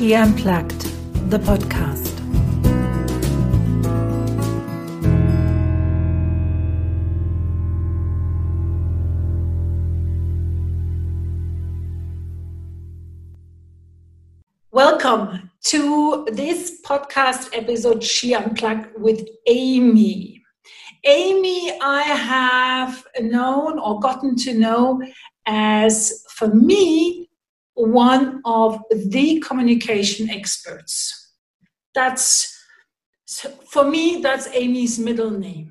She Unplugged, the podcast. Welcome to this podcast episode, She Unplugged with Amy. Amy, I have known or gotten to know as, for me, one of the communication experts. For me, that's Amy's middle name.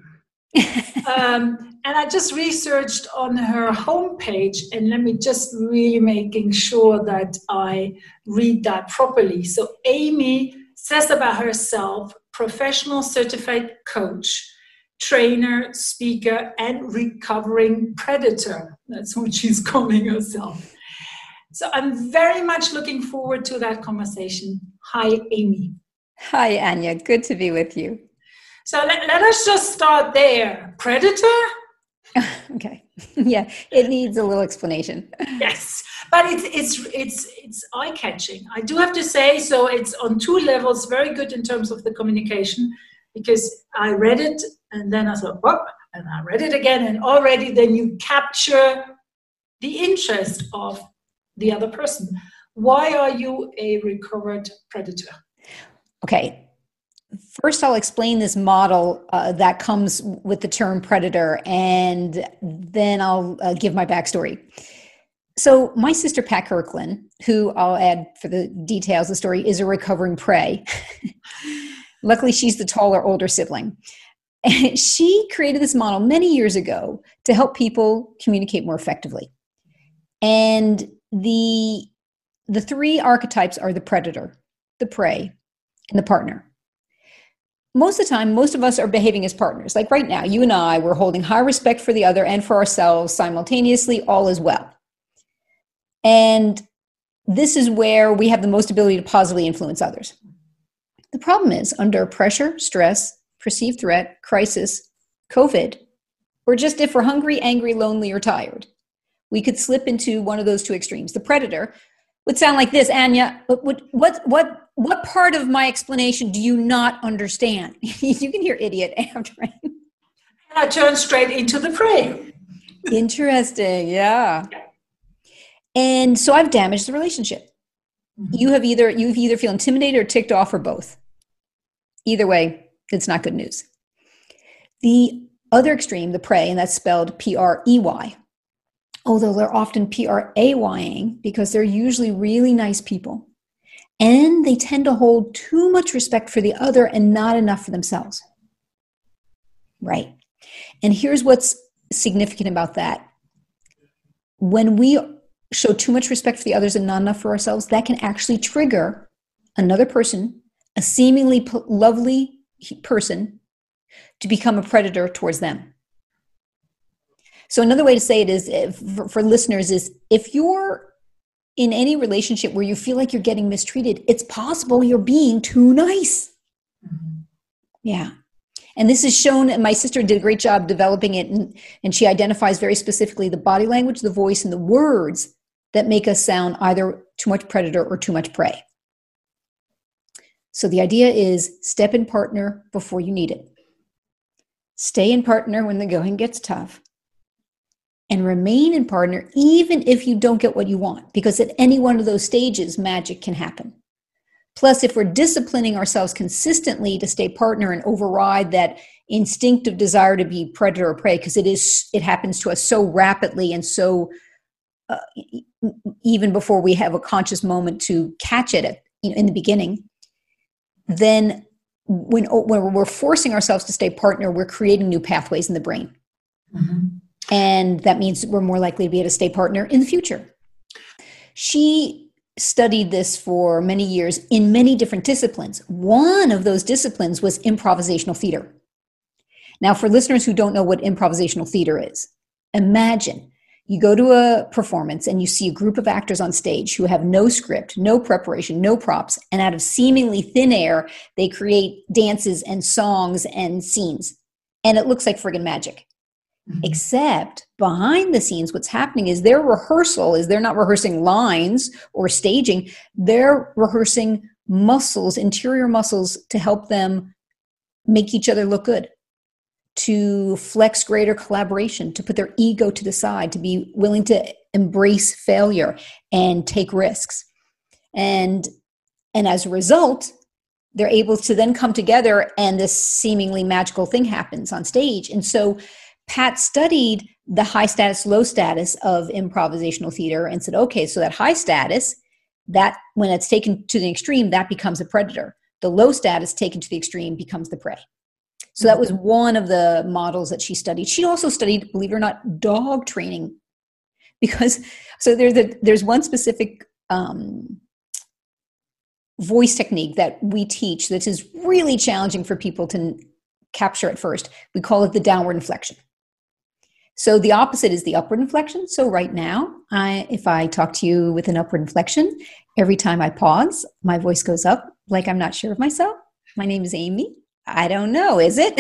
And I just researched on her homepage, and let me just really making sure that I read that properly. So Amy says about herself, professional certified coach, trainer, speaker, and recovering predator. That's what she's calling herself. So I'm very much looking forward to that conversation. Hi, Amy. Hi, Anya. Good to be with you. So let us just start there. Predator? Okay. Yeah, it needs a little explanation. Yes, but it's eye-catching. I do have to say, so it's on two levels, very good in terms of the communication, because I read it and then I thought, whoop, and I read it again, and already then you capture the interest of the other person. Why are you a recovered predator? Okay. First, I'll explain this model that comes with the term predator, and then I'll give my backstory. So my sister, Pat Kirkland, who I'll add for the details of the story, is a recovering prey. Luckily, she's the taller, older sibling. And she created this model many years ago to help people communicate more effectively. And the three archetypes are the predator, the prey, and the partner. Most of the time, most of us are behaving as partners. Like right now, you and I, we're holding high respect for the other and for ourselves simultaneously, all is well. And this is where we have the most ability to positively influence others. The problem is, under pressure, stress, perceived threat, crisis, COVID, or just if we're hungry, angry, lonely, or tired, we could slip into one of those two extremes. The predator would sound like this, Anya. What part of my explanation do you not understand? You can hear idiot after. And I turn straight into the prey. Interesting, yeah. And so I've damaged the relationship. Mm-hmm. You've either feel intimidated or ticked off or both. Either way, it's not good news. The other extreme, the prey, and that's spelled P-R-E-Y, although they're often P-R-A-Y-ing because they're usually really nice people. And they tend to hold too much respect for the other and not enough for themselves. Right. And here's what's significant about that. When we show too much respect for the others and not enough for ourselves, that can actually trigger another person, a seemingly lovely person, to become a predator towards them. So another way to say it is, for listeners, is if you're in any relationship where you feel like you're getting mistreated, it's possible you're being too nice. Mm-hmm. Yeah. And this is shown, and my sister did a great job developing it, and she identifies very specifically the body language, the voice, and the words that make us sound either too much predator or too much prey. So the idea is step in partner before you need it. Stay in partner when the going gets tough. And remain in partner even if you don't get what you want, because at any one of those stages, magic can happen. Plus, if we're disciplining ourselves consistently to stay partner and override that instinctive desire to be predator or prey, because it happens to us so rapidly and so even before we have a conscious moment to catch it in the beginning, then when we're forcing ourselves to stay partner, we're creating new pathways in the brain. Mm-hmm. And that means we're more likely to be able to stay partner in the future. She studied this for many years in many different disciplines. One of those disciplines was improvisational theater. Now, for listeners who don't know what improvisational theater is, imagine you go to a performance and you see a group of actors on stage who have no script, no preparation, no props, and out of seemingly thin air, they create dances and songs and scenes. And it looks like friggin' magic. Except behind the scenes, what's happening is their rehearsal is they're not rehearsing lines or staging. They're rehearsing muscles, interior muscles, to help them make each other look good, to flex greater collaboration, to put their ego to the side, to be willing to embrace failure and take risks. And as a result, they're able to then come together and this seemingly magical thing happens on stage. And so Pat studied the high status, low status of improvisational theater and said, okay, so that high status, that when it's taken to the extreme, that becomes a predator. The low status taken to the extreme becomes the prey. So that was one of the models that she studied. She also studied, believe it or not, dog training, because so there's one specific voice technique that we teach that is really challenging for people to capture at first. We call it the downward inflection. So the opposite is the upward inflection. So right now, if I talk to you with an upward inflection, every time I pause, my voice goes up like I'm not sure of myself. My name is Amy. I don't know, is it?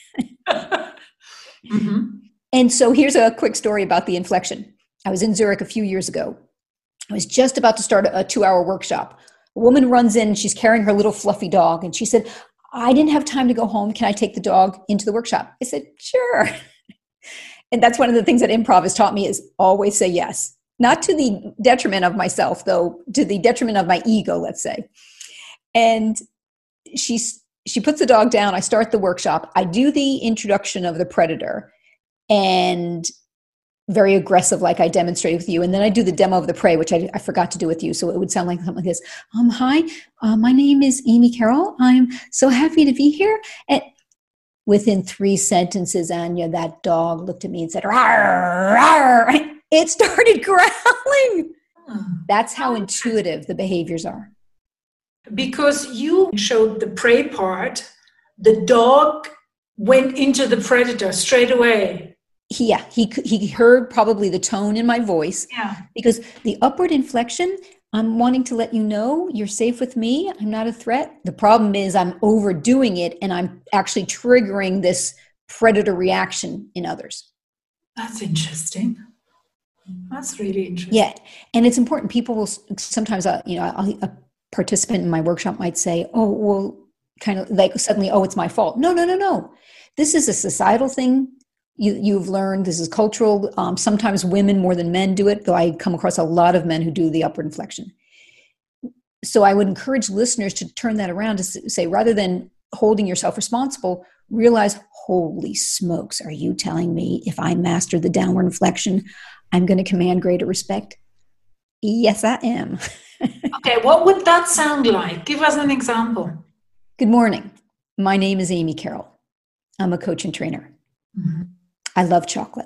Mm-hmm. And so here's a quick story about the inflection. I was in Zurich a few years ago. I was just about to start a 2-hour workshop. A woman runs in, she's carrying her little fluffy dog, and she said, I didn't have time to go home. Can I take the dog into the workshop? I said, sure. And that's one of the things that improv has taught me is always say yes. Not to the detriment of myself, though, to the detriment of my ego, let's say. And she puts the dog down. I start the workshop. I do the introduction of the predator and very aggressive, like I demonstrated with you. And then I do the demo of the prey, which I forgot to do with you. So it would sound like something like this. Hi, my name is Amy Carroll. I'm so happy to be here. And within 3 sentences, Anya, that dog looked at me and said, rawr, rawr. It started growling. That's how intuitive the behaviors are. Because you showed the prey part, the dog went into the predator straight away. Yeah, he heard probably the tone in my voice. Yeah. Because the upward inflection, I'm wanting to let you know you're safe with me. I'm not a threat. The problem is I'm overdoing it and I'm actually triggering this predator reaction in others. That's interesting. That's really interesting. Yeah. And it's important. People will sometimes, a participant in my workshop might say, oh, well, kind of like suddenly, oh, it's my fault. No. This is a societal thing. You've learned this is cultural. Sometimes women more than men do it, though I come across a lot of men who do the upward inflection. So I would encourage listeners to turn that around to say, rather than holding yourself responsible, realize, holy smokes, are you telling me if I master the downward inflection, I'm going to command greater respect? Yes, I am. Okay, what would that sound like? Give us an example. Good morning. My name is Amy Carroll. I'm a coach and trainer. Mm-hmm. I love chocolate.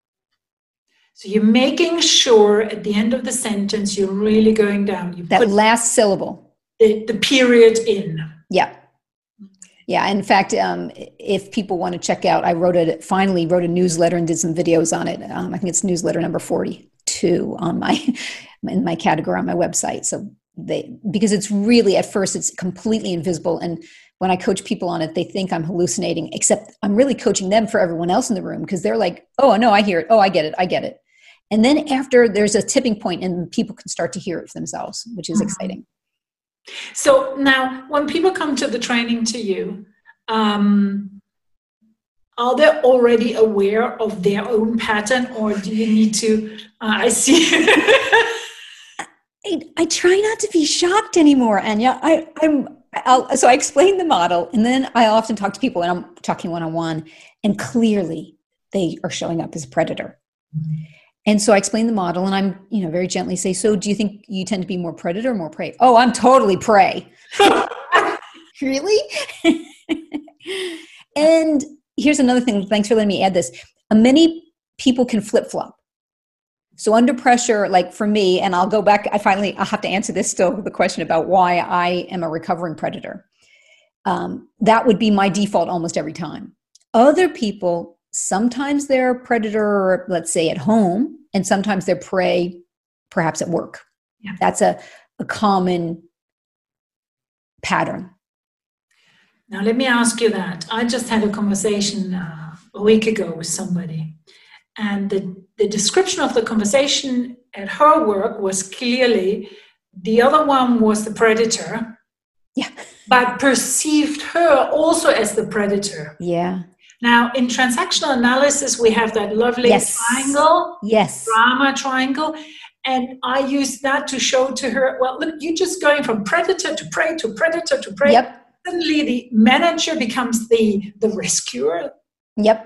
So you're making sure at the end of the sentence, you're really going down. You that put last syllable. The period in. Yeah. Yeah. In fact, if people want to check out, I finally wrote a newsletter and did some videos on it. I think it's newsletter number 42 in my category on my website. So because it's really, at first, it's completely invisible. And when I coach people on it, they think I'm hallucinating, except I'm really coaching them for everyone else in the room because they're like, oh, no, I hear it. Oh, I get it. And then after there's a tipping point and people can start to hear it for themselves, which is exciting. So now when people come to the training to you, are they already aware of their own pattern, or do you need to, I see. I try not to be shocked anymore, Anya. So I explain the model, and then I often talk to people when I'm talking one-on-one, and clearly they are showing up as a predator. Mm-hmm. And so I explain the model, and I'm, very gently say, so do you think you tend to be more predator or more prey? Oh, I'm totally prey. Really? And here's another thing. Thanks for letting me add this. Many people can flip-flop. So under pressure, like for me, and I'll go back, I'll have to answer this still, the question about why I am a recovering predator. That would be my default almost every time. Other people, sometimes they're predator, let's say at home, and sometimes they're prey, perhaps at work. Yeah. That's a common pattern. Now, let me ask you that. I just had a conversation a week ago with somebody. And the description of the conversation at her work was clearly the other one was the predator. Yeah. But perceived her also as the predator. Yeah. Now, in transactional analysis, we have that lovely triangle, drama triangle. And I used that to show to her, well, look, you're just going from predator to prey to predator to prey. Yep. Suddenly the manager becomes the rescuer. Yep.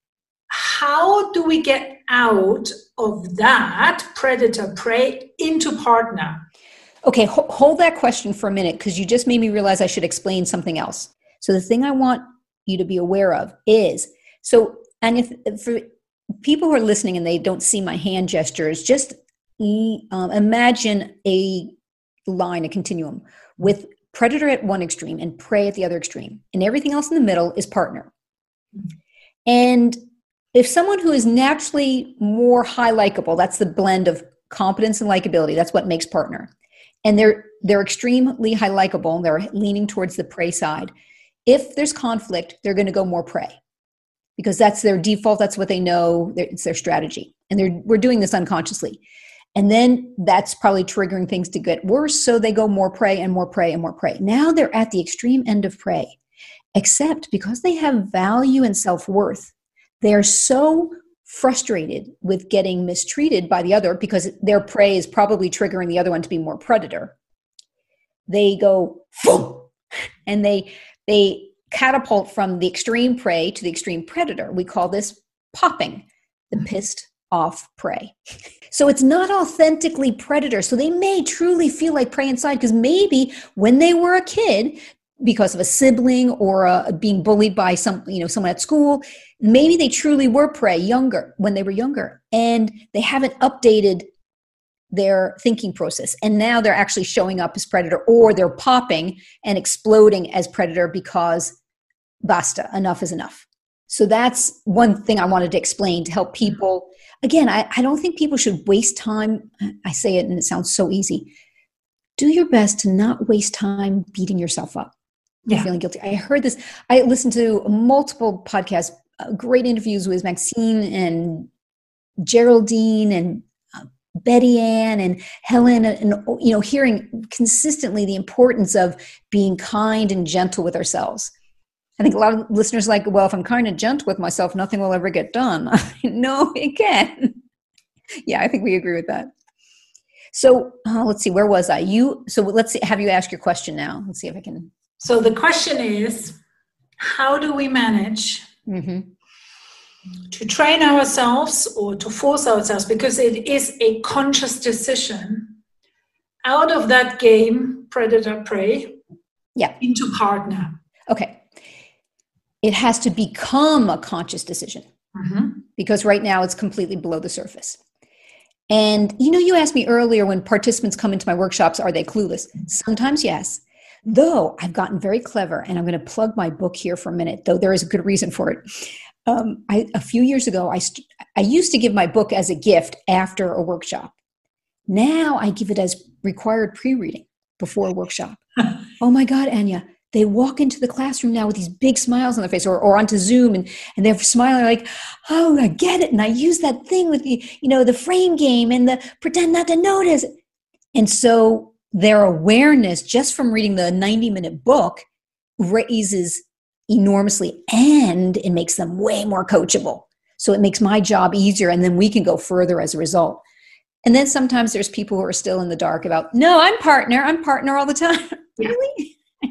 How do we get out of that predator-prey into partner? Okay, hold that question for a minute, because you just made me realize I should explain something else. So the thing I want you to be aware of is, and if for people who are listening and they don't see my hand gestures, just imagine a line, a continuum, with predator at one extreme and prey at the other extreme. And everything else in the middle is partner. And if someone who is naturally more high likable, that's the blend of competence and likability, that's what makes partner. And they're extremely high likable, they're leaning towards the prey side. If there's conflict, they're going to go more prey, because that's their default, that's what they know, it's their strategy. And we're doing this unconsciously. And then that's probably triggering things to get worse, so they go more prey and more prey and more prey. Now they're at the extreme end of prey, except because they have value and self-worth, they are so frustrated with getting mistreated by the other, because their prey is probably triggering the other one to be more predator. They go, and they catapult from the extreme prey to the extreme predator. We call this popping, the pissed off prey. So it's not authentically predator. So they may truly feel like prey inside, because maybe when they were a kid, because of a sibling or being bullied by someone at school, maybe they truly were prey when they were younger, and they haven't updated their thinking process. And now they're actually showing up as predator, or they're popping and exploding as predator because basta, enough is enough. So that's one thing I wanted to explain to help people. Again, I don't think people should waste time. I say it and it sounds so easy. Do your best to not waste time beating yourself up. Yeah. Feeling guilty. I heard this. I listened to multiple podcasts, great interviews with Maxine and Geraldine and Betty Ann and Helen, and hearing consistently the importance of being kind and gentle with ourselves. I think a lot of listeners are like, well, if I'm kind and gentle with myself, nothing will ever get done. No, it can. Yeah, I think we agree with that. So let's see, where was I? So let's see, have you asked your question now? Let's see if I can. So the question is, how do we manage to train ourselves or to force ourselves, because it is a conscious decision, out of that game, predator-prey, into partner? Okay. It has to become a conscious decision, because right now it's completely below the surface. And you asked me earlier, when participants come into my workshops, are they clueless? Sometimes, yes. Though I've gotten very clever, and I'm going to plug my book here for a minute, though there is a good reason for it. A few years ago, I used to give my book as a gift after a workshop. Now I give it as required pre-reading before a workshop. Oh my God, Anya. They walk into the classroom now with these big smiles on their face, or onto Zoom, and they're smiling like, oh, I get it. And I use that thing with the frame game and the pretend not to notice. And so their awareness just from reading the 90-minute book raises enormously, and it makes them way more coachable. So it makes my job easier, and then we can go further as a result. And then sometimes there's people who are still in the dark about, no, I'm partner all the time. Really?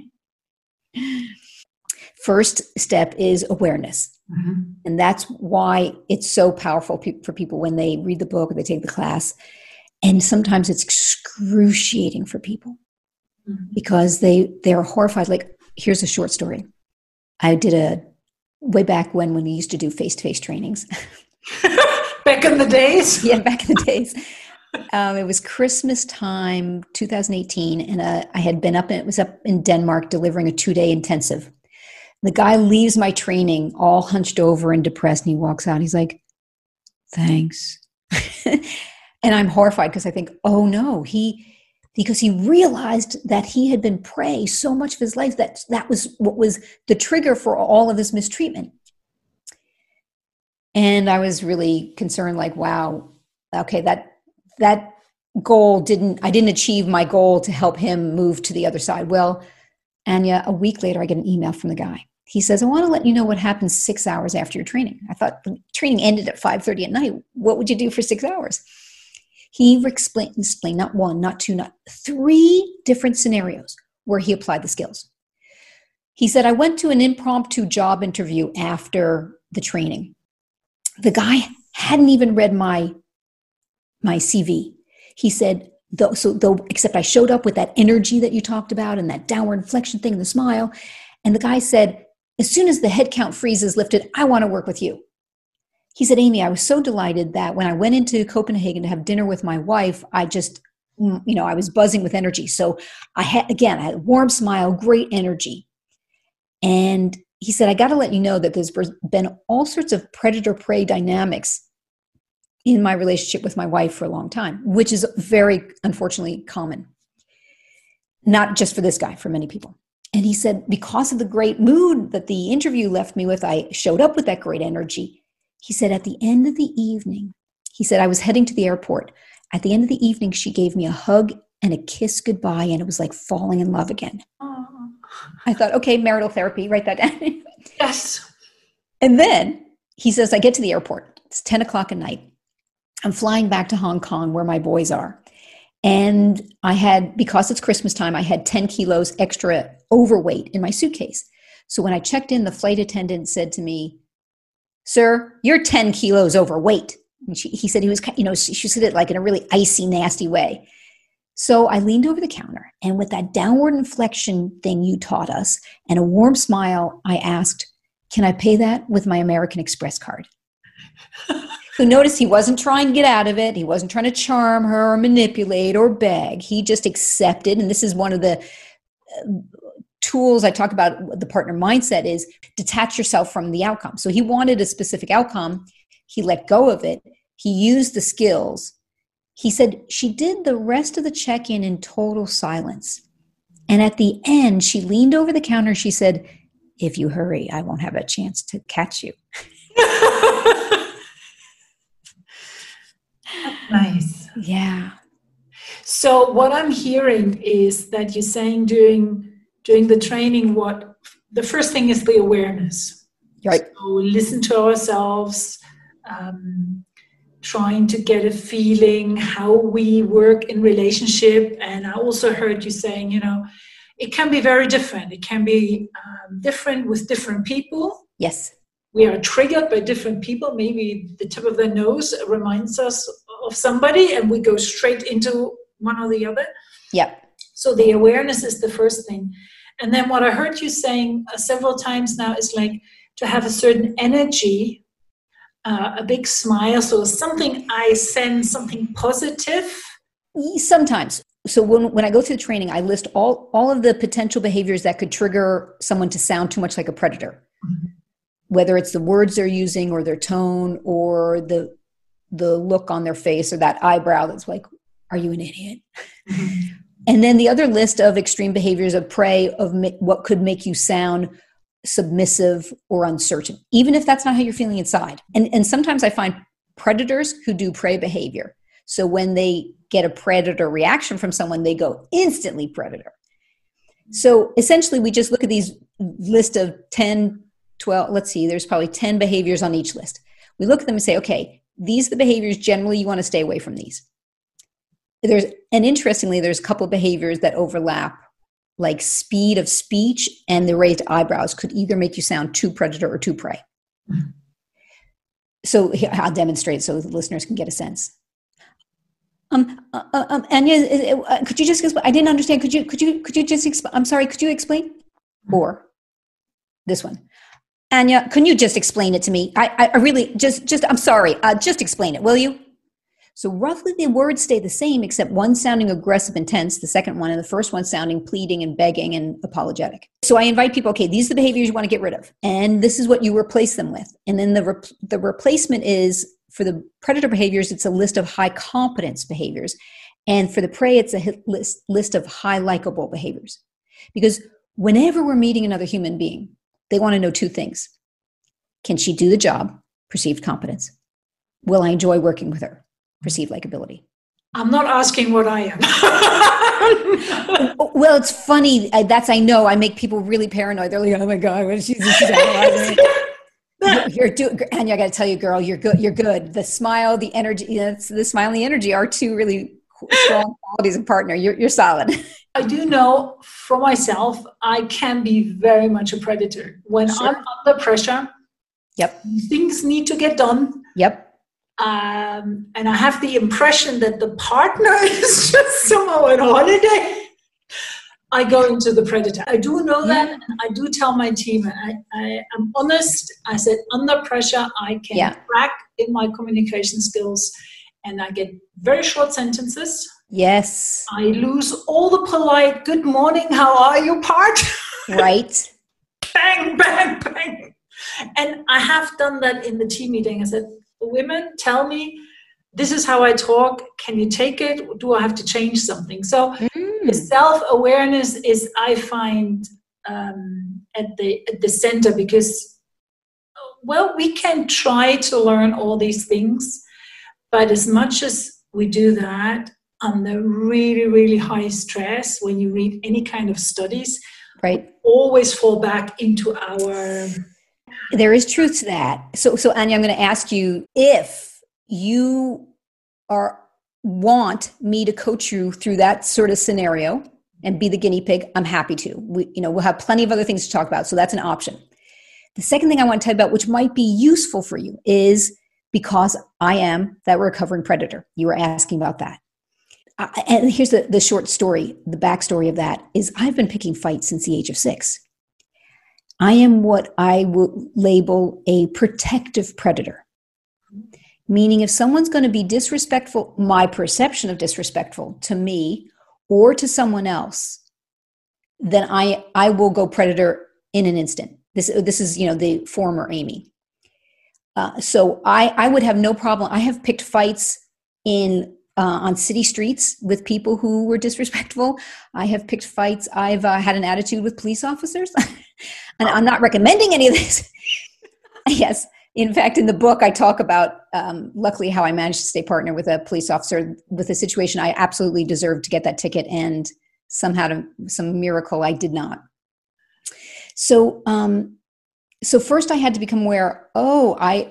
First step is awareness. And that's why it's so powerful for people when they read the book or they take the class. And sometimes it's excruciating for people because they're horrified. Like, here's a short story. I did way back when we used to do face-to-face trainings. Back in the days? Yeah, back in the days. It was Christmas time, 2018, and I had been up in Denmark delivering a 2-day intensive. The guy leaves my training all hunched over and depressed, and he walks out. He's like, thanks. And I'm horrified because I think, oh no, because he realized that he had been prey so much of his life that was what was the trigger for all of this mistreatment. And I was really concerned, like, wow, okay, that goal I didn't achieve my goal to help him move to the other side. Well, Anya, a week later, I get an email from the guy. He says, I want to let you know what happens 6 hours after your training. I thought the training ended at 5:30 at night. What would you do for 6 hours? He explained not one, not two, not three different scenarios where he applied the skills. He said, I went to an impromptu job interview after the training. The guy hadn't even read my CV. He said, except I showed up with that energy that you talked about and that downward inflection thing and the smile. And the guy said, as soon as the headcount freeze is lifted, I want to work with you. He said, Amy, I was so delighted that when I went into Copenhagen to have dinner with my wife, I just, I was buzzing with energy. So I had a warm smile, great energy. And he said, I got to let you know that there's been all sorts of predator-prey dynamics in my relationship with my wife for a long time, which is very, unfortunately, common. Not just for this guy, for many people. And he said, because of the great mood that the interview left me with, I showed up with that great energy. He said, at the end of the evening, he said, I was heading to the airport. At the end of the evening, she gave me a hug and a kiss goodbye, and it was like falling in love again. Oh. I thought, okay, marital therapy, write that down. Yes. And then he says, I get to the airport. It's 10 o'clock at night. I'm flying back to Hong Kong where my boys are. And because it's Christmas time, I had 10 kilos extra overweight in my suitcase. So when I checked in, the flight attendant said to me, sir, you're 10 kilos overweight. And he said he was, she said it like in a really icy, nasty way. So I leaned over the counter, and with that downward inflection thing you taught us and a warm smile, I asked, can I pay that with my American Express card? So notice he wasn't trying to get out of it. He wasn't trying to charm her or manipulate or beg. He just accepted. And this is one of the tools I talk about, the partner mindset, is detach yourself from the outcome. So he wanted a specific outcome. He let go of it. He used the skills. He said she did the rest of the check-in in total silence. And at the end, she leaned over the counter. She said, if you hurry, I won't have a chance to catch you. Nice. Yeah. So what I'm hearing is that you're saying during the training, the first thing is the awareness. Right. So listen to ourselves, trying to get a feeling how we work in relationship. And I also heard you saying, it can be very different. It can be different with different people. Yes. We are triggered by different people. Maybe the tip of their nose reminds us of somebody and we go straight into one or the other. Yep. So the awareness is the first thing. And then what I heard you saying several times now is like to have a certain energy, a big smile. So something I sense, something positive. Sometimes. So when I go through the training, I list all of the potential behaviors that could trigger someone to sound too much like a predator. Mm-hmm. Whether it's the words they're using or their tone or the look on their face or that eyebrow that's like, are you an idiot? Mm-hmm. And then the other list of extreme behaviors of prey of what could make you sound submissive or uncertain, even if that's not how you're feeling inside. And sometimes I find predators who do prey behavior. So when they get a predator reaction from someone, they go instantly predator. So essentially we just look at these list of 10, 12, let's see, there's probably 10 behaviors on each list. We look at them and say, okay, these are the behaviors generally you want to stay away from these. Interestingly, there's a couple of behaviors that overlap, like speed of speech and the raised eyebrows could either make you sound too predator or too prey. Mm-hmm. So I'll demonstrate so the listeners can get a sense. Anya, could you just explain? I didn't understand. Could you just explain? I'm sorry. Could you explain? Or this one. Anya, can you just explain it to me? I really I'm sorry. Just explain it, will you? So roughly the words stay the same, except one sounding aggressive and tense, the second one, and the first one sounding pleading and begging and apologetic. So I invite people, okay, these are the behaviors you want to get rid of. And this is what you replace them with. And then the replacement is, for the predator behaviors, it's a list of high competence behaviors. And for the prey, it's a list of high likable behaviors. Because whenever we're meeting another human being, they want to know two things. Can she do the job? perceived competence? Will I enjoy working with her? Perceived likability. I'm not asking what I am. Well, it's funny. I know I make people really paranoid. They're like, oh my God, what is she's analyzing? Anya, I got to tell you, girl, you're good. You're good. The smile, the energy, the smile and the energy are two really strong qualities of partner. You're solid. I do know for myself, I can be very much a predator. When I'm under pressure, yep, things need to get done. Yep. And I have the impression that the partner is just somehow on holiday. I go into the predator. I do know that, and I do tell my team, I'm honest. I said, under pressure, I can crack in my communication skills, and I get very short sentences. Yes. I lose all the polite, good morning, how are you part. Right. Bang, bang, bang. And I have done that in the team meeting. I said, women, tell me, this is how I talk. Can you take it? Do I have to change something? So the self-awareness is, I find, at the center, because, well, we can try to learn all these things, but as much as we do that under really, really high stress, when you read any kind of studies, right, always fall back into our... There is truth to that. So Anya, I'm going to ask you, if you want me to coach you through that sort of scenario and be the guinea pig, I'm happy to. We'll have plenty of other things to talk about, so that's an option. The second thing I want to tell you about, which might be useful for you, is because I am that recovering predator. You were asking about that. And here's the short story, the backstory of that is I've been picking fights since the age of 6. I am what I would label a protective predator. Meaning if someone's going to be disrespectful, my perception of disrespectful to me or to someone else, then I will go predator in an instant. This is, the former Amy. So I would have no problem. I have picked fights on city streets with people who were disrespectful. I have picked fights. I've had an attitude with police officers. And I'm not recommending any of this. Yes. In fact, in the book, I talk about, luckily, how I managed to stay partner with a police officer with a situation I absolutely deserved to get that ticket. And somehow, some miracle, I did not. So first I had to become aware, I'm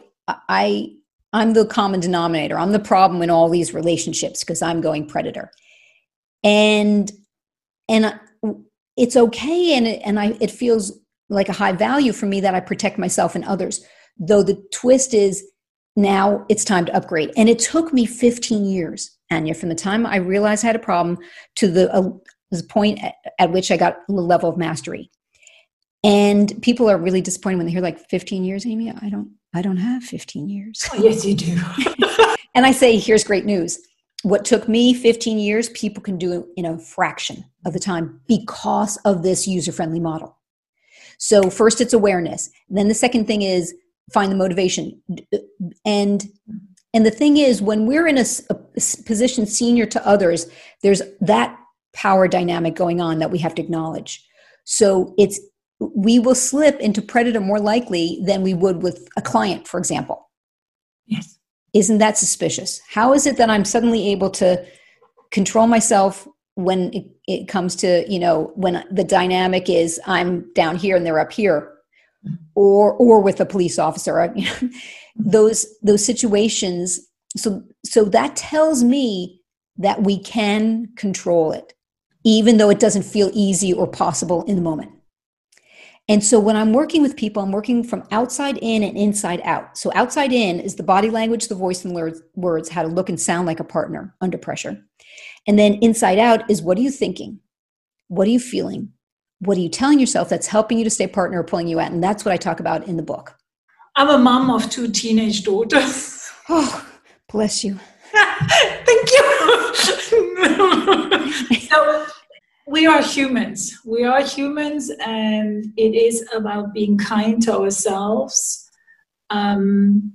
the common denominator. I'm the problem in all these relationships because I'm going predator. And it's okay. And it feels like a high value for me that I protect myself and others. Though the twist is now it's time to upgrade. And it took me 15 years, Anya, from the time I realized I had a problem to the point at which I got a level of mastery. And people are really disappointed when they hear like 15 years, Amy. I don't have 15 years. Oh, yes, you do. And I say, here's great news. What took me 15 years, people can do in a fraction of the time because of this user-friendly model. So first it's awareness. Then the second thing is find the motivation. And the thing is, when we're in a position senior to others, there's that power dynamic going on that we have to acknowledge. So we will slip into predator more likely than we would with a client, for example. Yes. Isn't that suspicious? How is it that I'm suddenly able to control myself when it comes to, when the dynamic is I'm down here and they're up here, or with a police officer, those situations. So that tells me that we can control it, even though it doesn't feel easy or possible in the moment. And so when I'm working with people, I'm working from outside in and inside out. So outside in is the body language, the voice, and words, how to look and sound like a partner under pressure. And then inside out is, what are you thinking? What are you feeling? What are you telling yourself that's helping you to stay partner or pulling you out? And that's what I talk about in the book. I'm a mom of 2 teenage daughters. Oh, bless you. Thank you. So we are humans. We are humans, and it is about being kind to ourselves, and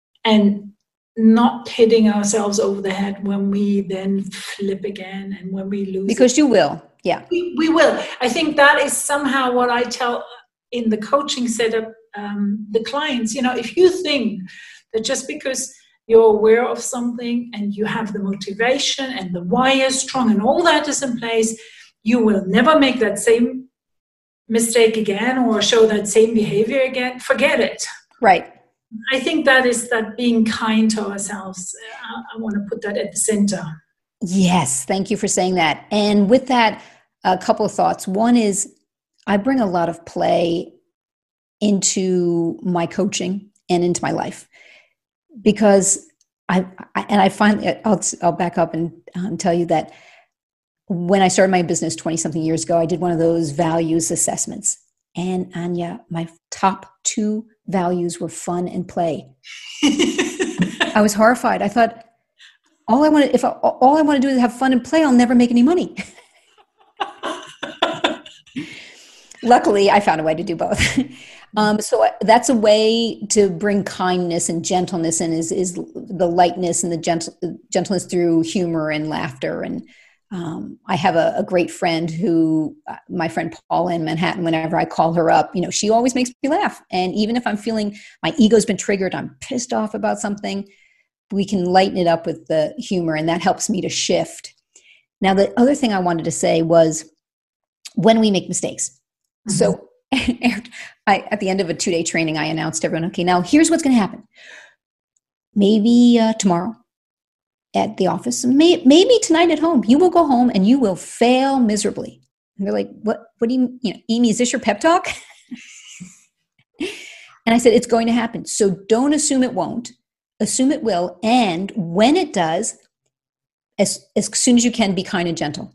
not hitting ourselves over the head when we then flip again and when we lose. Because you will, yeah. We will. I think that is somehow what I tell in the coaching setup the clients. If you think that just because you're aware of something and you have the motivation and the why is strong and all that is in place, you will never make that same mistake again or show that same behavior again. Forget it. Right. I think that is that being kind to ourselves. I want to put that at the center. Yes. Thank you for saying that. And with that, a couple of thoughts. One is I bring a lot of play into my coaching and into my life because I finally, I'll back up and tell you that when I started my business 20 something years ago, I did one of those values assessments. And Anya, my top 2 values were fun and play. I was horrified. I thought, all I want to do is have fun and play, I'll never make any money. Luckily, I found a way to do both. So that's a way to bring kindness and gentleness in is the lightness and the gentleness through humor and laughter. And I have a great friend who, my friend Paula in Manhattan, whenever I call her up, she always makes me laugh. And even if I'm feeling my ego's been triggered, I'm pissed off about something, we can lighten it up with the humor, and that helps me to shift. Now, the other thing I wanted to say was when we make mistakes. Mm-hmm. So at the end of a 2-day training, I announced to everyone, okay, now here's what's going to happen. Maybe tomorrow at the office, maybe tonight at home, you will go home and you will fail miserably. And they're like, what do you Amy, is this your pep talk? And I said, it's going to happen. So don't assume it won't. Assume it will. And when it does, as soon as you can, be kind and gentle.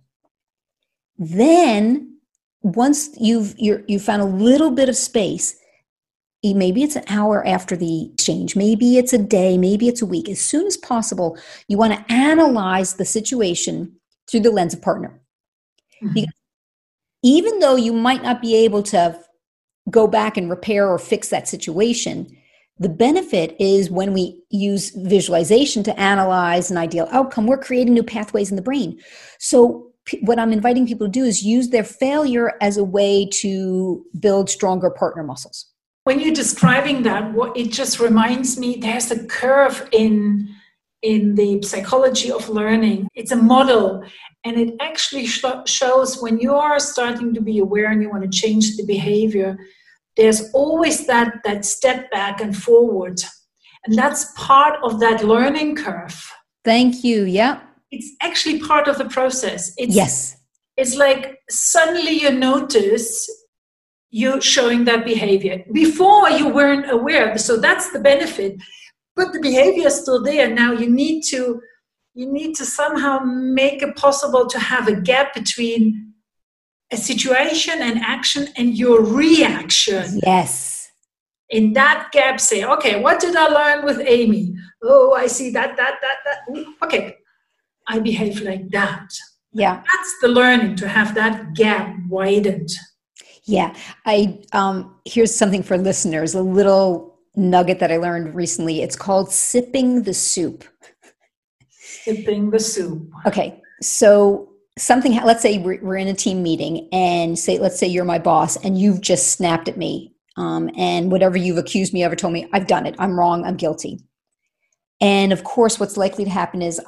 Then once you've found a little bit of space, maybe it's an hour after the exchange, maybe it's a day, maybe it's a week. As soon as possible, you want to analyze the situation through the lens of partner. Mm-hmm. Because even though you might not be able to go back and repair or fix that situation, the benefit is when we use visualization to analyze an ideal outcome, we're creating new pathways in the brain. So what I'm inviting people to do is use their failure as a way to build stronger partner muscles. When you're describing that, it just reminds me, there's a curve in the psychology of learning. It's a model, and it actually shows when you are starting to be aware and you want to change the behavior, there's always that step back and forward. And that's part of that learning curve. Thank you. Yeah. It's actually part of the process. Yes. It's like suddenly you notice you showing that behavior. Before you weren't aware. So that's the benefit. But the behavior is still there. Now you need to somehow make it possible to have a gap between a situation and action and your reaction. Yes. In that gap, say, okay, what did I learn with Amy? Oh, I see that. Okay, I behave like that. Yeah. That's the learning, to have that gap widened. Yeah. Here's something for listeners, a little nugget that I learned recently. It's called sipping the soup. Sipping the soup. Okay. So let's say we're in a team meeting and let's say you're my boss and you've just snapped at me. And whatever you've accused me of or told me, I've done it. I'm wrong. I'm guilty. And of course, what's likely to happen is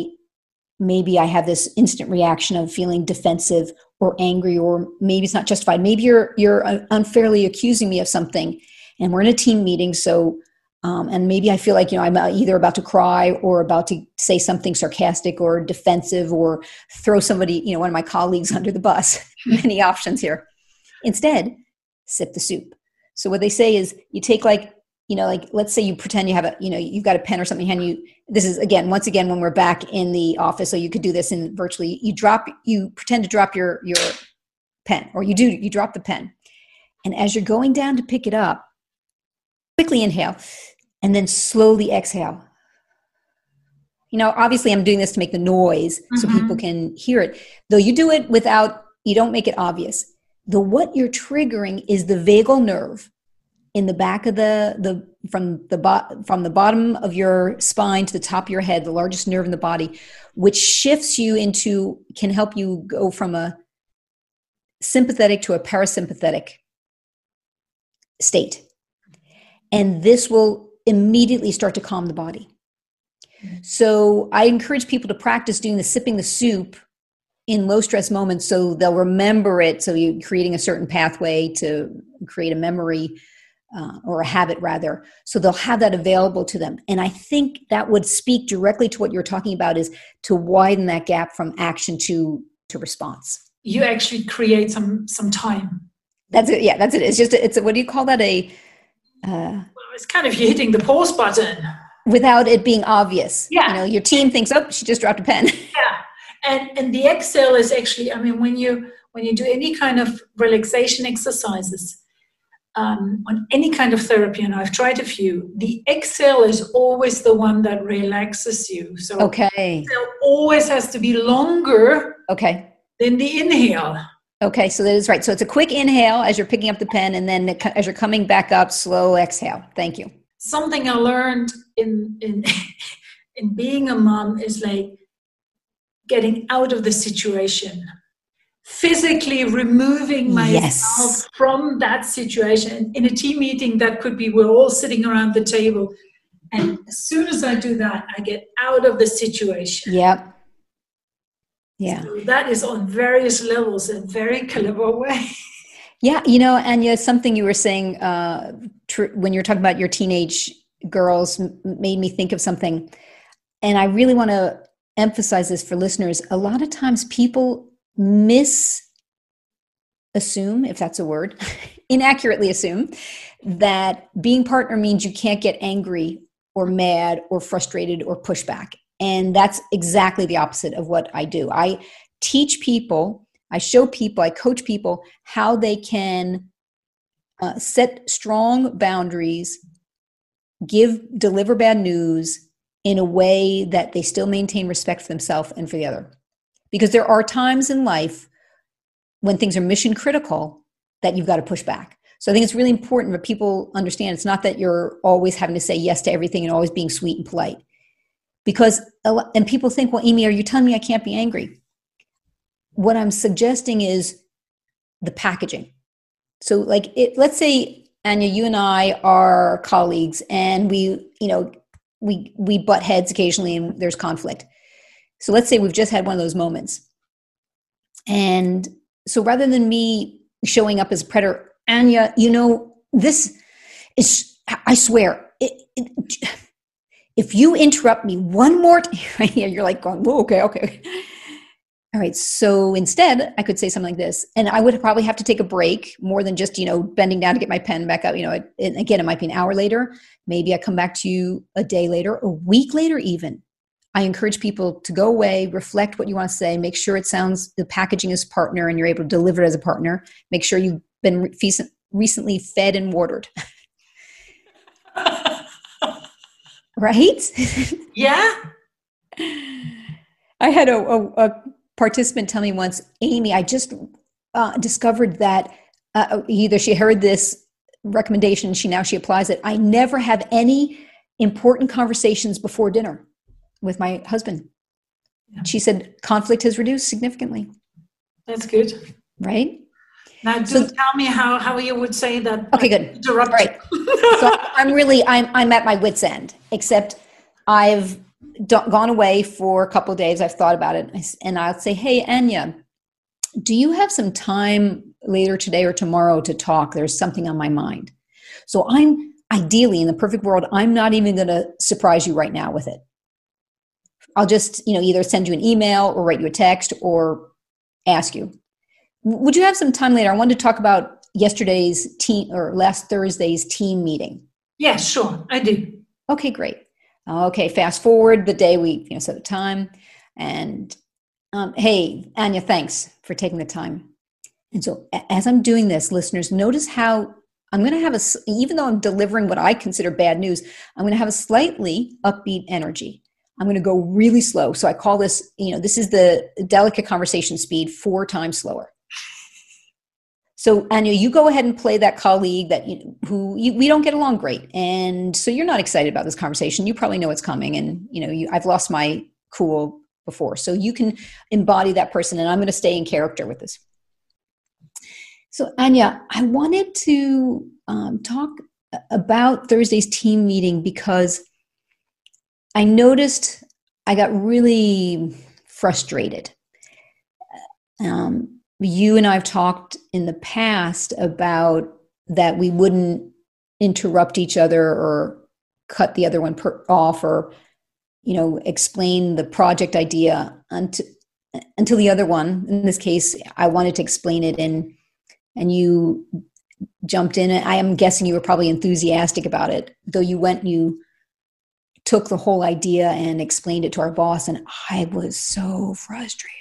maybe I have this instant reaction of feeling defensive or angry, or maybe it's not justified. Maybe you're unfairly accusing me of something, and we're in a team meeting. So, and maybe I feel like, I'm either about to cry or about to say something sarcastic or defensive or throw somebody, one of my colleagues under the bus. Many options here. Instead, sip the soup. So what they say is you take let's say you pretend you have you've got a pen or something in your hand. This is once again, when we're back in the office, so you could do this in virtually, you pretend to drop your pen, or you drop the pen. And as you're going down to pick it up, quickly inhale and then slowly exhale. Obviously I'm doing this to make the noise so people can hear it. Though you do it you don't make it obvious. What you're triggering is the vagal nerve in the back of from the bottom of your spine to the top of your head, the largest nerve in the body, which shifts you can help you go from a sympathetic to a parasympathetic state. And this will immediately start to calm the body. So I encourage people to practice doing the sipping the soup in low stress moments so they'll remember it. So you're creating a certain pathway to create a memory or a habit rather. So they'll have that available to them. And I think that would speak directly to what you're talking about, is to widen that gap from action to response. You actually create some time. That's it. Yeah, that's it. It's what do you call that? Well, it's kind of you hitting the pause button. Without it being obvious. Yeah. You know, your team thinks, oh, she just dropped a pen. Yeah. And the exhale is actually, I mean, when you do any kind of relaxation exercises, on any kind of therapy, and I've tried a few, the exhale is always the one that relaxes you. So okay. Exhale always has to be longer than the inhale. Okay, so that is right. So it's a quick inhale as you're picking up the pen, and then as you're coming back up, slow exhale. Thank you. Something I learned in being a mom is like getting out of the situation, physically removing myself from that situation. In a team meeting, that could be we're all sitting around the table, and as soon as I do that, I get out of the situation. Yep. Yeah. So that is on various levels a very clever way. Yeah, you know, Anya, something you were saying when you're talking about your teenage girls made me think of something. And I really want to emphasize this for listeners. A lot of times people assume, if that's a word, inaccurately assume that being partner means you can't get angry or mad or frustrated or push back. And that's exactly the opposite of what I do. I teach people, I show people, I coach people how they can set strong boundaries, deliver bad news in a way that they still maintain respect for themselves and for the other. Because there are times in life when things are mission critical that you've got to push back. So I think it's really important that people understand it's not that you're always having to say yes to everything and always being sweet and polite. Because, and people think, well, Amy, are you telling me I can't be angry? What I'm suggesting is the packaging. So like, let's say, Anya, you and I are colleagues and we butt heads occasionally and there's conflict. So let's say we've just had one of those moments. And so rather than me showing up as a predator, Anya, this is, I swear, if you interrupt me one more time, you're like going, whoa, okay. All right. So instead, I could say something like this, and I would probably have to take a break more than just, bending down to get my pen back up. And again, it might be an hour later. Maybe I come back to you a day later, a week later even. I encourage people to go away, reflect what you want to say, make sure the packaging is partner and you're able to deliver it as a partner. Make sure you've been recently fed and watered. Right? Yeah. I had a participant tell me once, Amy, I just discovered that either she heard this recommendation, she applies it. I never have any important conversations before dinner with my husband. Yeah. She said, conflict has reduced significantly. That's good. Right? Now, tell me how you would say that. Okay, good. Interrupt. Right. So I'm at my wit's end, except I've gone away for a couple of days. I've thought about it, and I'll say, hey, Anya, do you have some time later today or tomorrow to talk? There's something on my mind. So I'm ideally, in the perfect world, I'm not even going to surprise you right now with it. I'll just, either send you an email or write you a text or ask you, would you have some time later? I wanted to talk about yesterday's last Thursday's team meeting. Yeah, sure. I do. Okay, great. Okay. Fast forward the day we, set the time, and, hey, Anya, thanks for taking the time. And so as I'm doing this, listeners, notice how I'm going to have even though I'm delivering what I consider bad news, I'm going to have a slightly upbeat energy. I'm going to go really slow. So I call this, this is the delicate conversation speed 4 times slower. So Anya, you go ahead and play that colleague that we don't get along great, and so you're not excited about this conversation. You probably know it's coming, and I've lost my cool before, so you can embody that person. And I'm going to stay in character with this. So Anya, I wanted to talk about Thursday's team meeting because I noticed I got really frustrated. You and I have talked in the past about that we wouldn't interrupt each other or cut the other one off or, explain the project idea until the other one, in this case, I wanted to explain it and you jumped in. I am guessing you were probably enthusiastic about it, though you went and you took the whole idea and explained it to our boss, and I was so frustrated.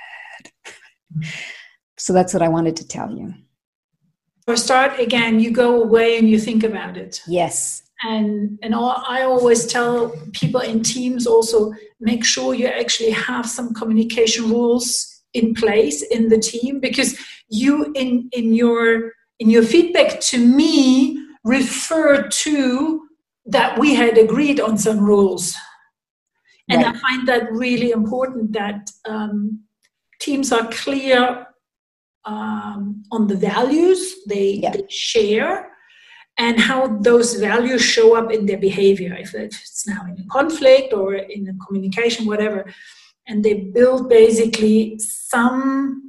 So that's what I wanted to tell you. Or start again, you go away and you think about it. Yes. I always tell people in teams also, make sure you actually have some communication rules in place in the team, because you in your feedback to me refer to that we had agreed on some rules. And right. I find that really important that teams are clear on the values they share and how those values show up in their behavior, if it's now in a conflict or in a communication, whatever. And they build basically some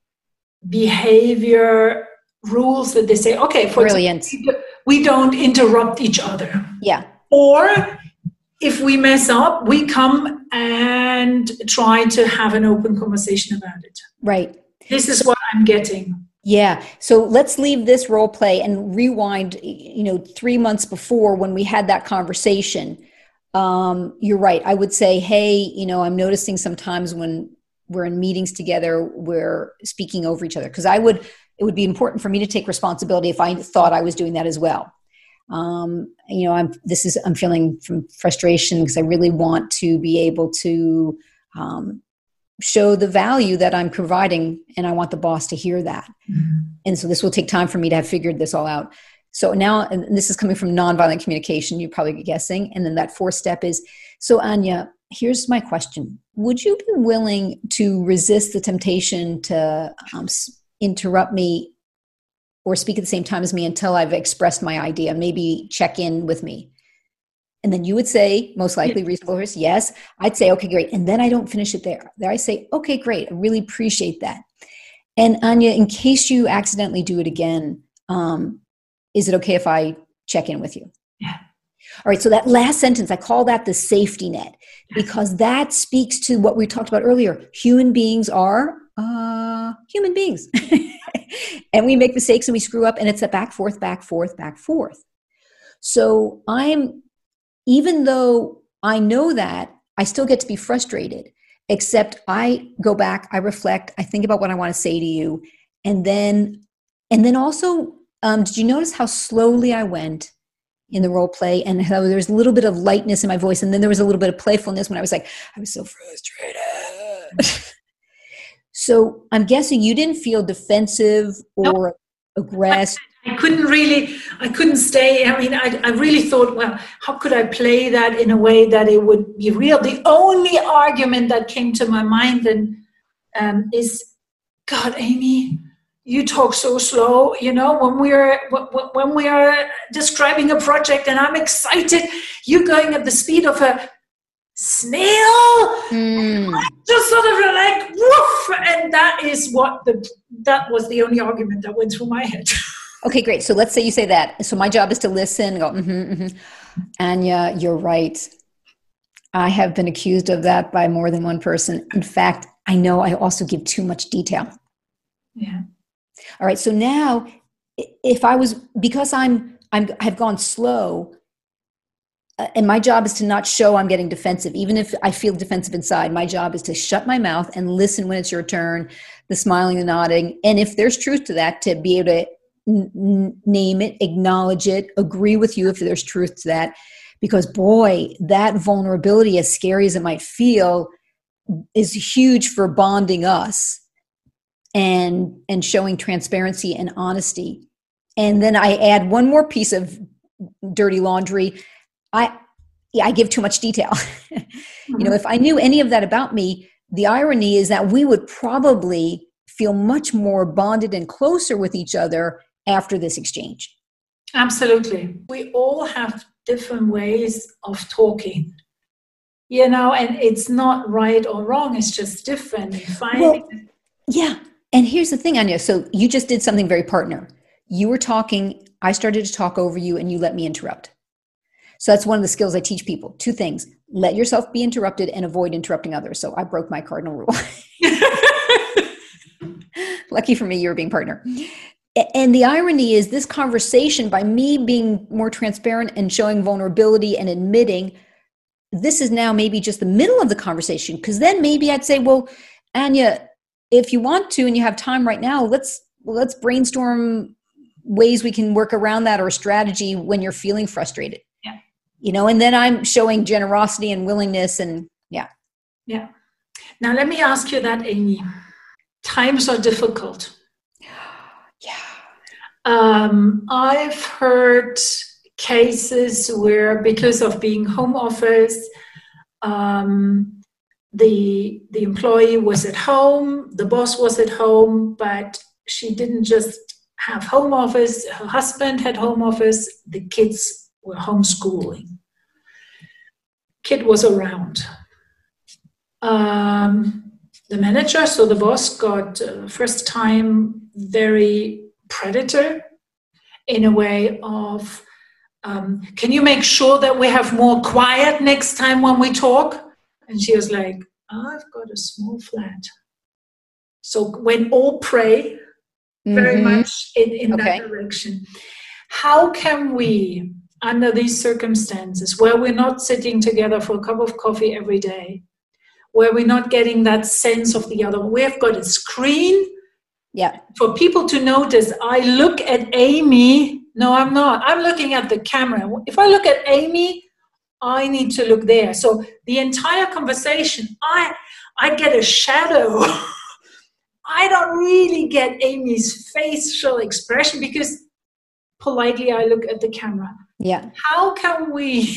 behavior rules that they say, okay, for brilliant. Example, we don't interrupt each other. Yeah. Or if we mess up, we come and try to have an open conversation about it. Right. This is what I'm getting. Yeah. So let's leave this role play and rewind, 3 months before when we had that conversation. You're right. I would say, hey, I'm noticing sometimes when we're in meetings together, we're speaking over each other. Because it would be important for me to take responsibility if I thought I was doing that as well. I'm feeling from frustration because I really want to be able to show the value that I'm providing, and I want the boss to hear that. Mm-hmm. And so this will take time for me to have figured this all out. So now, and this is coming from nonviolent communication, you're probably guessing. And then that fourth step is, so Anya, here's my question. Would you be willing to resist the temptation to interrupt me or speak at the same time as me until I've expressed my idea? Maybe check in with me. And then you would say, most likely reasonable risk, yes. I'd say, okay, great. And then I don't finish it there. There I say, okay, great. I really appreciate that. And Anya, in case you accidentally do it again, is it okay if I check in with you? Yeah. All right. So that last sentence, I call that the safety net, because that speaks to what we talked about earlier. Human beings are human beings. And we make mistakes and we screw up, and it's a back, forth, back, forth, back, forth. So even though I know that, I still get to be frustrated, except I go back, I reflect, I think about what I want to say to you. And then also, did you notice how slowly I went in the role play, and how there was a little bit of lightness in my voice, and then there was a little bit of playfulness when I was like, I was so frustrated. So I'm guessing you didn't feel defensive or aggressive. I couldn't stay. I mean, I really thought, well, how could I play that in a way that it would be real? The only argument that came to my mind then is, God, Amy, you talk so slow. When we are describing a project and I'm excited, you're going at the speed of a snail. I just sort of like woof, and that was the only argument that went through my head. Okay, great. So let's say you say that. So my job is to listen and go, Anya, you're right. I have been accused of that by more than one person. In fact, I know I also give too much detail. Yeah. All right. So now because I've gone slow, and my job is to not show I'm getting defensive. Even if I feel defensive inside, my job is to shut my mouth and listen when it's your turn, the smiling, the nodding. And if there's truth to that, to be able to name it, acknowledge it, agree with you if there's truth to that. Because boy, that vulnerability, as scary as it might feel, is huge for bonding us and showing transparency and honesty. And then I add one more piece of dirty laundry. I give too much detail. Mm-hmm. If I knew any of that about me, the irony is that we would probably feel much more bonded and closer with each other after this exchange. Absolutely. We all have different ways of talking, and it's not right or wrong. It's just different. Well, yeah. And here's the thing, Anya. So you just did something very partner. You were talking, I started to talk over you, and you let me interrupt. So that's one of the skills I teach people. Two things: let yourself be interrupted and avoid interrupting others. So I broke my cardinal rule. Lucky for me, you were being partner. And the irony is this conversation, by me being more transparent and showing vulnerability and admitting, this is now maybe just the middle of the conversation. Because then maybe I'd say, well, Anya, if you want to and you have time right now, let's brainstorm ways we can work around that, or a strategy when you're feeling frustrated. Yeah. And then I'm showing generosity and willingness, and yeah. Yeah. Now let me ask you that, Amy. Times are difficult. I've heard cases where, because of being home office, the employee was at home, the boss was at home, but she didn't just have home office. Her husband had home office. The kids were homeschooling. Kid was around. The manager, so the boss, got first time very predator in a way of, can you make sure that we have more quiet next time when we talk? And she was like, I've got a small flat. So when all pray very much in that direction. How can we, under these circumstances where we're not sitting together for a cup of coffee every day, where we're not getting that sense of the other, we've got a screen. Yeah. For people to notice, I look at Amy. No, I'm not. I'm looking at the camera. If I look at Amy, I need to look there. So the entire conversation, I get a shadow. I don't really get Amy's facial expression because politely I look at the camera. Yeah. How can we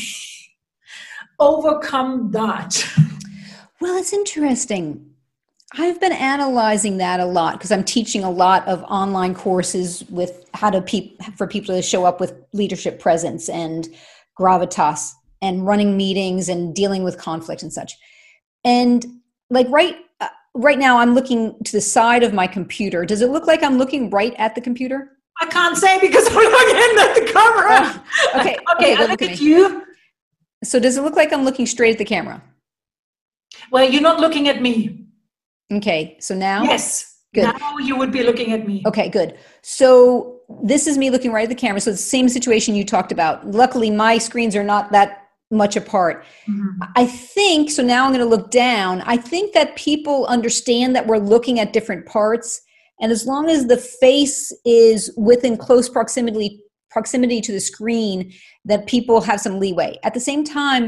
overcome that? Well, it's interesting. I've been analyzing that a lot because I'm teaching a lot of online courses with how to for people to show up with leadership presence and gravitas and running meetings and dealing with conflict and such. And like right now, I'm looking to the side of my computer. Does it look like I'm looking right at the computer? I can't say because I'm looking at the camera. Okay, I look at you. So does it look like I'm looking straight at the camera? Well, you're not looking at me. Okay, so now? Yes. Good. Now you would be looking at me. Okay, good. So this is me looking right at the camera. So it's the same situation you talked about. Luckily, my screens are not that much apart. Mm-hmm. I think, so now I'm going to look down. I think that people understand that we're looking at different parts. And as long as the face is within close proximity to the screen, that people have some leeway. At the same time,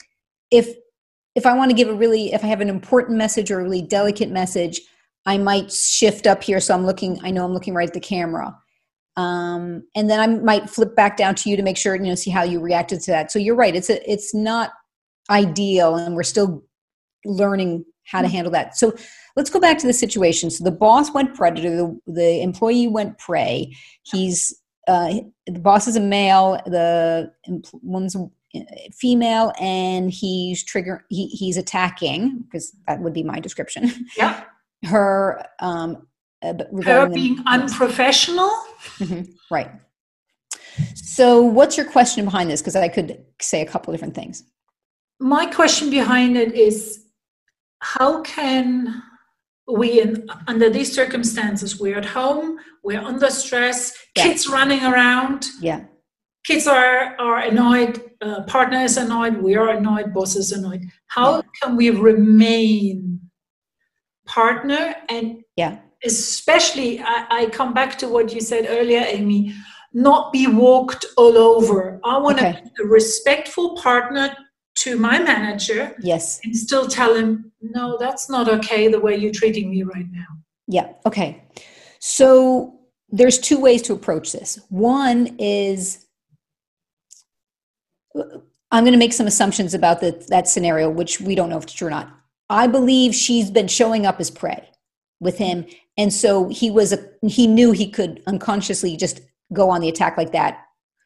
if I want to give if I have an important message or a really delicate message, I might shift up here. So I know I'm looking right at the camera. And then I might flip back down to you to make sure, see how you reacted to that. So you're right. It's not ideal, and we're still learning how to handle that. So let's go back to the situation. So the boss went predator, the employee went prey. The boss is a male, the woman's female, and he's attacking, because that would be my description. Yeah. Her being unprofessional. Mm-hmm. Right. So what's your question behind this? Because I could say a couple of different things. My question behind it is, how can we, under these circumstances, we're at home, we're under stress, kids running around. Yeah. Kids are annoyed, partner is annoyed, we are annoyed, boss is annoyed. How can we remain partner? And especially, I come back to what you said earlier, Amy, not be walked all over. I want to be a respectful partner to my manager. Yes. And still tell him, no, that's not okay the way you're treating me right now. Yeah. Okay. So there's two ways to approach this. One is, I'm going to make some assumptions about that scenario, which we don't know if it's true or not. I believe she's been showing up as prey with him. And so he knew he could unconsciously just go on the attack like that.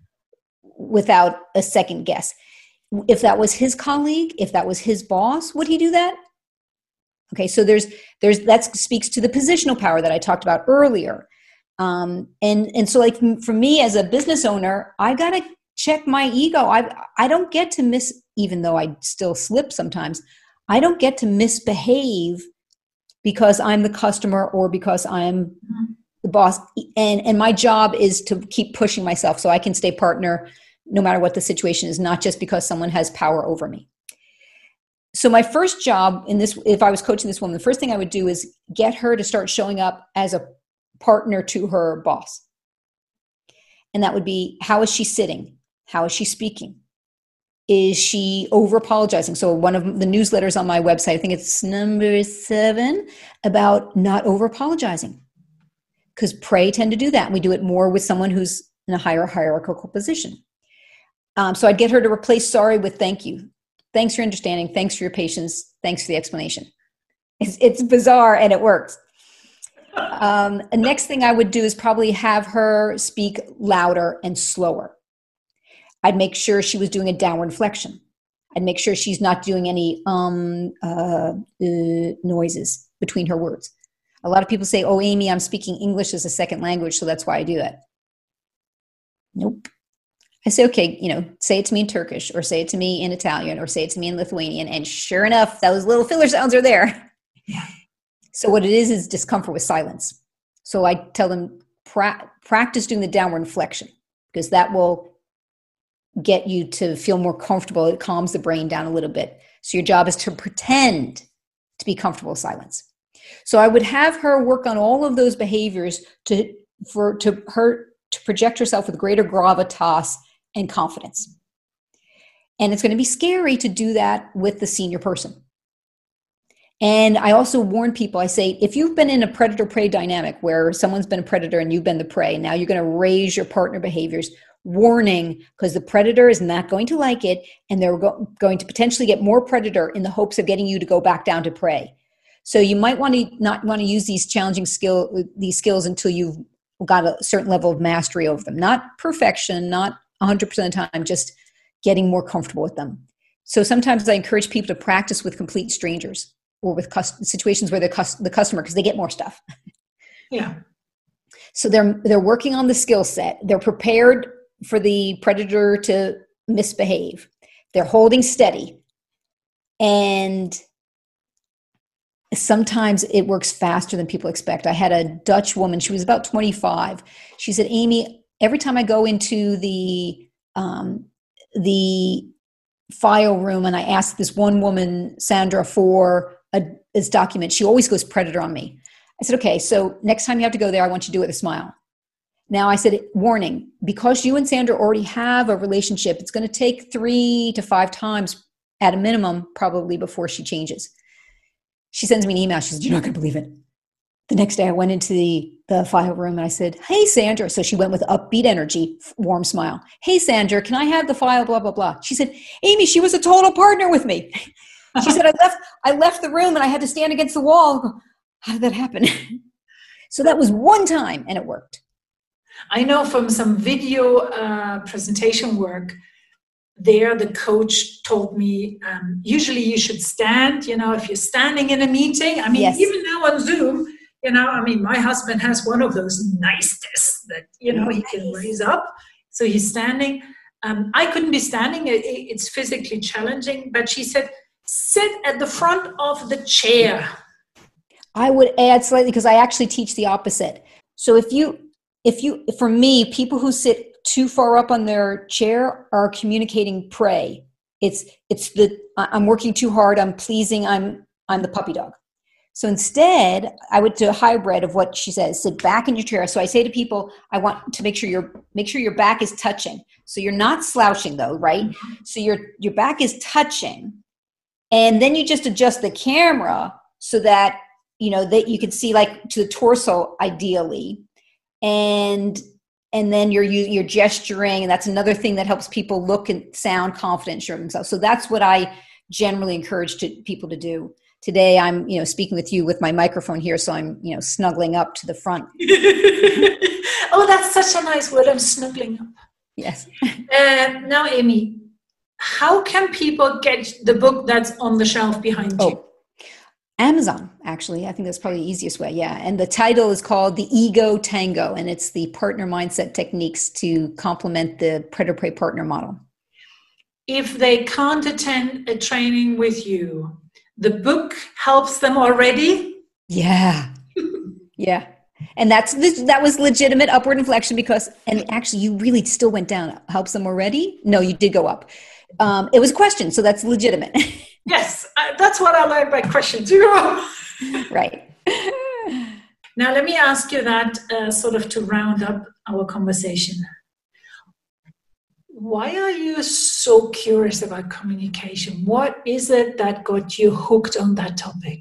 without a second guess. If that was his colleague, if that was his boss, would he do that? Okay, so there's that speaks to the positional power that I talked about earlier. And so like for me as a business owner, I got to check my ego. I don't get to even though I still slip sometimes, I don't get to misbehave because I'm the customer or because I'm the boss. And my job is to keep pushing myself so I can stay partner no matter what the situation is, not just because someone has power over me. So my first job in this, if I was coaching this woman, the first thing I would do is get her to start showing up as a partner to her boss. And that would be, how is she sitting? How is she speaking? Is she over apologizing? So one of the newsletters on my website, I think it's number 7, about not over apologizing. Because pray tend to do that. And we do it more with someone who's in a higher hierarchical position. So I'd get her to replace sorry with thank you. Thanks for your understanding. Thanks for your patience. Thanks for the explanation. It's bizarre and it works. The next thing I would do is probably have her speak louder and slower. I'd make sure she was doing a downward inflection. I'd make sure she's not doing any noises between her words. A lot of people say, oh, Amy, I'm speaking English as a second language, so that's why I do that. Nope. I say, okay, say it to me in Turkish, or say it to me in Italian, or say it to me in Lithuanian. And sure enough, those little filler sounds are there. Yeah. So what it is discomfort with silence. So I tell them, practice doing the downward inflection, because that will get you to feel more comfortable. It calms the brain down a little bit. So your job is to pretend to be comfortable with silence. So I would have her work on all of those behaviors to project herself with greater gravitas and confidence. And it's going to be scary to do that with the senior person. And I also warn people, I say, if you've been in a predator-prey dynamic where someone's been a predator and you've been the prey, now you're going to raise your partner behaviors. Warning, because the predator is not going to like it, and they're going to potentially get more predator in the hopes of getting you to go back down to prey. So you might not want to use these challenging skills until you've got a certain level of mastery over them. Not perfection, not 100% of the time, just getting more comfortable with them. So sometimes I encourage people to practice with complete strangers or with situations where the customer, because they get more stuff. Yeah. So they're working on the skill set. They're prepared for the predator to misbehave. They're holding steady. And sometimes it works faster than people expect. I had a Dutch woman, she was about 25. She said, Amy, every time I go into the file room and I ask this one woman, Sandra, for this document, she always goes predator on me. I said, okay, so next time you have to go there, I want you to do it with a smile. Now I said, warning, because you and Sandra already have a relationship, it's going to take 3 to 5 times at a minimum, probably, before she changes. She sends me an email. She says, you're not going to believe it. The next day I went into the file room and I said, hey, Sandra. So she went with upbeat energy, warm smile. Hey, Sandra, can I have the file, blah, blah, blah. She said, Amy, she was a total partner with me. She said, I left the room and I had to stand against the wall. How did that happen? So that was one time and it worked. I know from some video presentation work, the coach told me, usually you should stand, if you're standing in a meeting. I mean, yes. Even now on Zoom, my husband has one of those nice desks that, he can raise up. So he's standing. I couldn't be standing. It's physically challenging. But she said, sit at the front of the chair. I would add slightly, because I actually teach the opposite. So for me, people who sit too far up on their chair are communicating prey. I'm working too hard. I'm pleasing. I'm the puppy dog. So instead, I would do a hybrid of what she says. Sit back in your chair. So I say to people, I want to make sure your back is touching. So you're not slouching though, right? Mm-hmm. So your back is touching, and then you just adjust the camera so that that you can see like to the torso ideally, and then you're gesturing, and that's another thing that helps people look and sound confident and sure of themselves. So that's what I generally encourage people to do. Today I'm speaking with you with my microphone here, so I'm snuggling up to the front. Oh, that's such a nice word. I'm snuggling up. Yes. Now, Amy, how can people get the book that's on the shelf behind you? Oh, Amazon, actually. I think that's probably the easiest way. Yeah. And the title is called The Ego Tango, and it's the partner mindset techniques to complement the predator-prey partner model. If they can't attend a training with you, the book helps them already? Yeah. Yeah. And that was legitimate upward inflection because, and actually you really still went down. Helps them already? No, you did go up. It was a question, so that's legitimate. Yes, that's what I like by question too. Right. Now, let me ask you that sort of to round up our conversation. Why are you so curious about communication? What is it that got you hooked on that topic?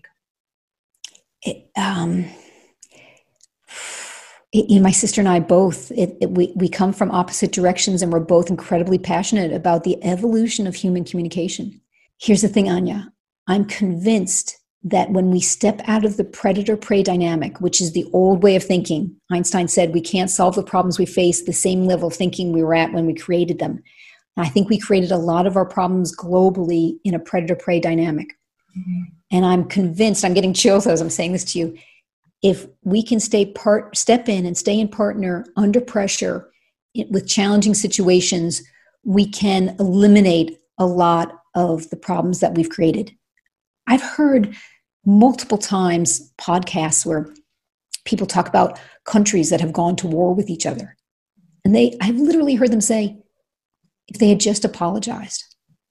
My sister and I both, we come from opposite directions, and we're both incredibly passionate about the evolution of human communication. Here's the thing, Anya. I'm convinced that when we step out of the predator-prey dynamic, which is the old way of thinking, Einstein said we can't solve the problems we face the same level of thinking we were at when we created them. And I think we created a lot of our problems globally in a predator-prey dynamic. Mm-hmm. And I'm convinced, I'm getting chills as I'm saying this to you, if we can step in and stay in partner under pressure with challenging situations, we can eliminate a lot of the problems that we've created. I've heard multiple times podcasts where people talk about countries that have gone to war with each other. And I've literally heard them say, if they had just apologized.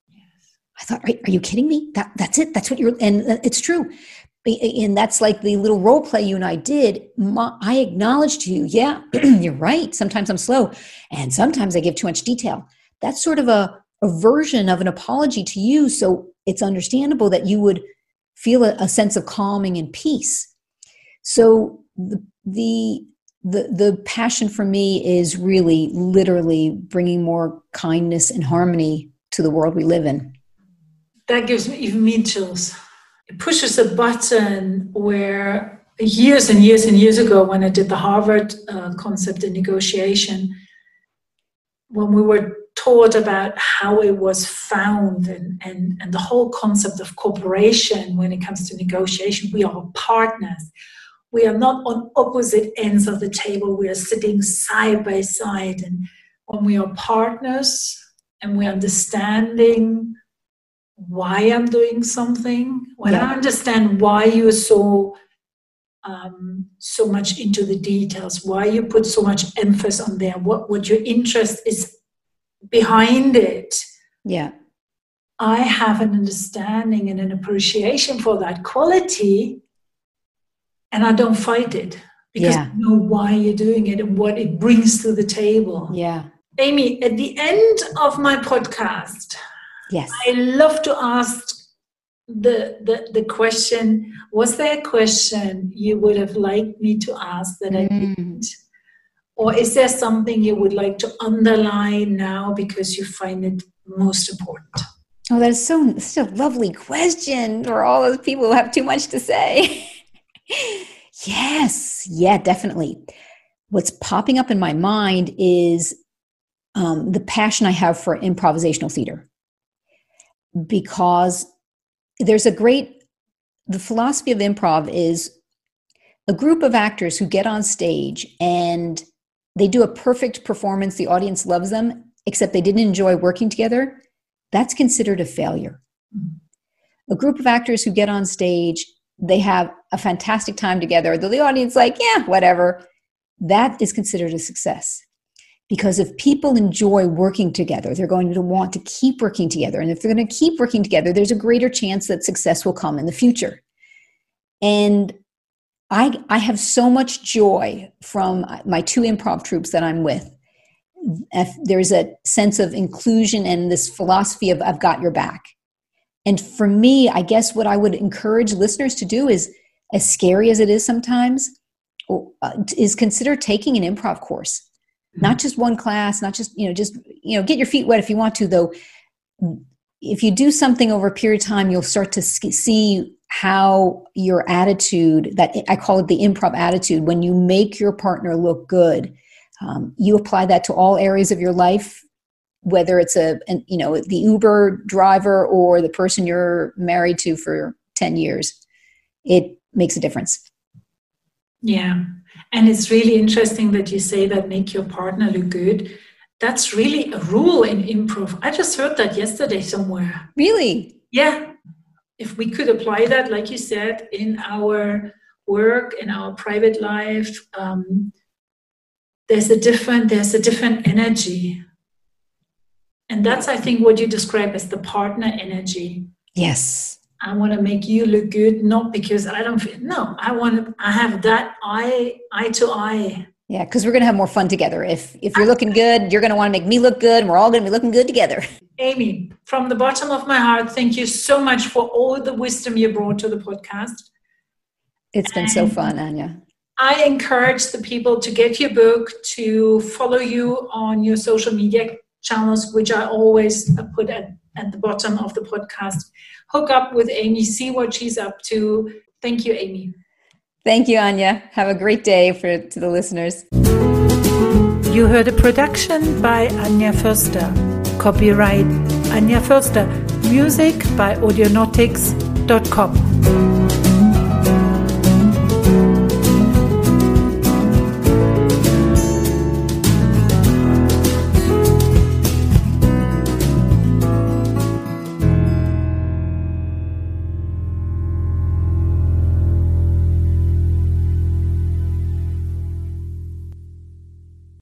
I thought, are you kidding me? That's it. That's what and it's true. And that's like the little role play you and I did. I acknowledged to you, yeah, you're right. Sometimes I'm slow. And sometimes I give too much detail. That's sort of a version of an apology to you. So it's understandable that you would feel a sense of calming and peace. So the passion for me is really literally bringing more kindness and harmony to the world we live in. That gives me chills. It pushes a button where years and years and years ago, when I did the Harvard concept in negotiation, when we were taught about how it was found and the whole concept of cooperation when it comes to negotiation, we are partners. We are not on opposite ends of the table. We are sitting side by side. And when we are partners and we're understanding why I'm doing something, when I understand why you're so much into the details, why you put so much emphasis on there, what your interest is behind it. Yeah. I have an understanding and an appreciation for that quality, and I don't fight it because I know why you're doing it and what it brings to the table. Yeah. Amy, at the end of my podcast, yes, I love to ask the question, was there a question you would have liked me to ask that I didn't? Or is there something you would like to underline now because you find it most important? Oh, that's such a lovely question for all those people who have too much to say. Yes, yeah, definitely. What's popping up in my mind is the passion I have for improvisational theater. Because there's the philosophy of improv is a group of actors who get on stage and they do a perfect performance, the audience loves them, except they didn't enjoy working together. That's considered a failure. A group of actors who get on stage, they have a fantastic time together, though the audience like, yeah, whatever. That is considered a success. Because if people enjoy working together, they're going to want to keep working together. And if they're going to keep working together, there's a greater chance that success will come in the future. And I have so much joy from my two improv troupes that I'm with. There's a sense of inclusion and this philosophy of I've got your back. And for me, I guess what I would encourage listeners to do is, as scary as it is sometimes, is consider taking an improv course. Not just one class, not just get your feet wet if you want to, though. If you do something over a period of time, you'll start to see how your attitude, that I call it the improv attitude, when you make your partner look good, You apply that to all areas of your life, whether it's the Uber driver or the person you're married to for 10 years. It makes a difference. Yeah. And it's really interesting that you say that make your partner look good. That's really a rule in improv. I just heard that yesterday somewhere. Really? Yeah. If we could apply that, like you said, in our work, in our private life, there's a different energy. And that's, I think, what you describe as the partner energy. Yes. I want to make you look good, not because I have that eye to eye. Yeah, because we're going to have more fun together. If you're looking good, you're going to want to make me look good, and we're all going to be looking good together. Amy, from the bottom of my heart, thank you so much for all the wisdom you brought to the podcast. It's been so fun, Anja. I encourage the people to get your book, to follow you on your social media channels, which I always put at the bottom of the podcast. Hook up with Amy, see what she's up to. Thank you, Amy. Thank you, Anja. Have a great day to the listeners. You heard a production by Anja Förster. Copyright Anja Förster. Music by audionautics.com.